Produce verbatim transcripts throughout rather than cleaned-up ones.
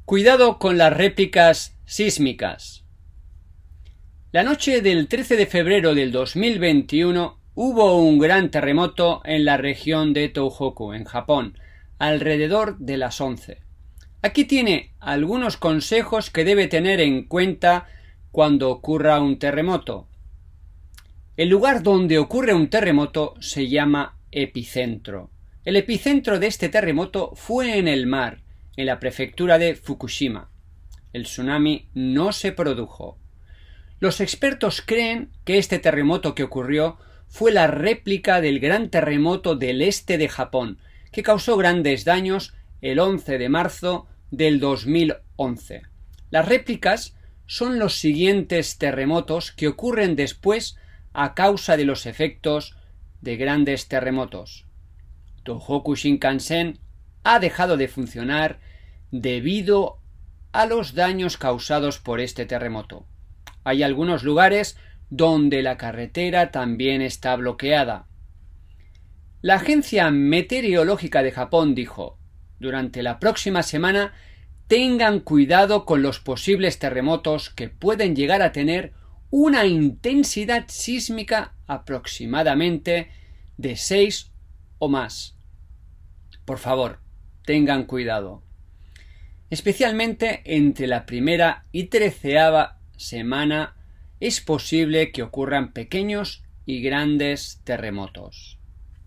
Cuidado con las réplicas sísmicas. La noche del trece de febrero del dos mil veintiuno hubo un gran terremoto en la región de Tohoku, en Japón, alrededor de las once. Aquí tiene algunos consejos que debe tener en cuenta cuando ocurra un terremoto. El lugar donde ocurre un terremoto se llama epicentro. El epicentro de este terremoto fue en el mar, en la prefectura de Fukushima. El tsunami no se produjo. Los expertos creen que este terremoto que ocurrió fue la réplica del gran terremoto del este de Japón, que causó grandes daños el once de marzo del dos mil once. Las réplicas son los siguientes terremotos que ocurren después a causa de los efectos de grandes terremotos. Tohoku Shinkansen ha dejado de funcionar debido a los daños causados por este terremoto. Hay algunos lugares donde la carretera también está bloqueada. La Agencia Meteorológica de Japón dijo: durante la próxima semana tengan cuidado con los posibles terremotos que pueden llegar a tener una intensidad sísmica aproximadamente de seis o más. Por favor, tengan cuidado. Especialmente entre la primera y treceava semana es posible que ocurran pequeños y grandes terremotos.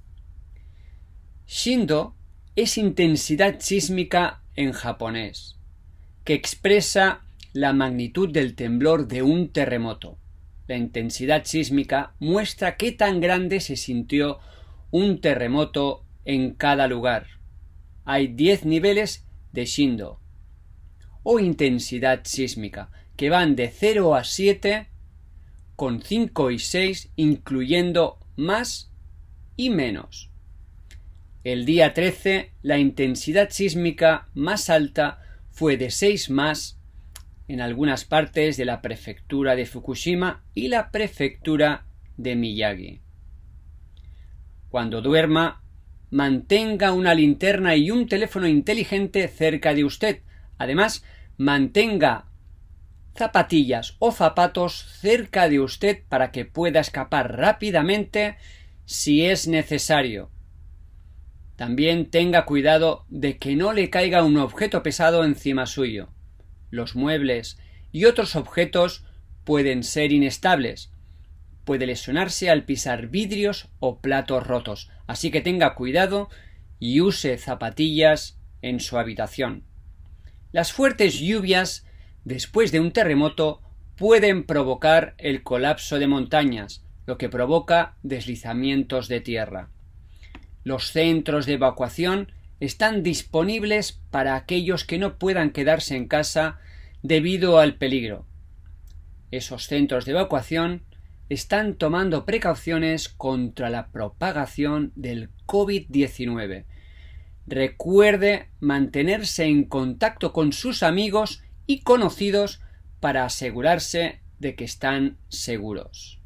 Shindo es intensidad sísmica en japonés, que expresa la magnitud del temblor de un terremoto. La intensidad sísmica muestra qué tan grande se sintió un terremoto en cada lugar. Hay diez niveles de Shindo o intensidad sísmica, que van de cero a siete, con cinco y seis incluyendo más y menos. El día trece, la intensidad sísmica más alta fue de seis más en algunas partes de la prefectura de Fukushima y la prefectura de Miyagi. Cuando duerma, mantenga una linterna y un teléfono inteligente cerca de usted. Además, mantenga zapatillas o zapatos cerca de usted para que pueda escapar rápidamente si es necesario. También tenga cuidado de que no le caiga un objeto pesado encima suyo. Los muebles y otros objetos pueden ser inestables. Puede lesionarse al pisar vidrios o platos rotos, así que tenga cuidado y use zapatillas en su habitación. Las fuertes lluvias después de un terremoto pueden provocar el colapso de montañas, lo que provoca deslizamientos de tierra. Los centros de evacuación están disponibles para aquellos que no puedan quedarse en casa debido al peligro. Esos centros de evacuación están tomando precauciones contra la propagación del COVID diecinueve. Recuerde mantenerse en contacto con sus amigos y conocidos para asegurarse de que están seguros.